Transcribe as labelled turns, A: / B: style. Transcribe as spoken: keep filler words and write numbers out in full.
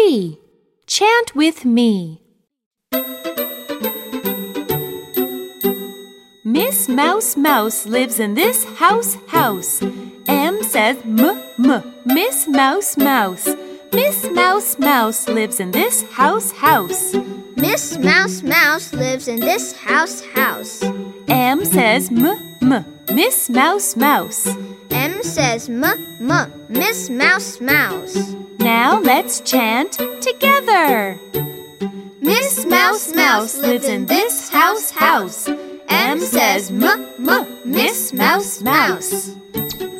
A: three. Chant with me. Miss Mouse Mouse lives in this house house. M says m, m, Miss Mouse Mouse. Miss Mouse Mouse lives in this house house.
B: Miss Mouse Mouse lives in this house house.
A: M says m, m, Miss Mouse Mouse.
B: M says m, m, Miss Mouse Mouse.
A: Now let's chant together. Miss Mouse Mouse lives in this house house. M says m, m, Miss Mouse Mouse.